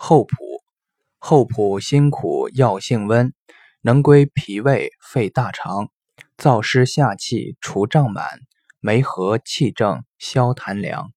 厚朴，厚朴辛苦药性温，能归脾胃肺大肠，燥湿下气除胀满，梅核气正消痰凉。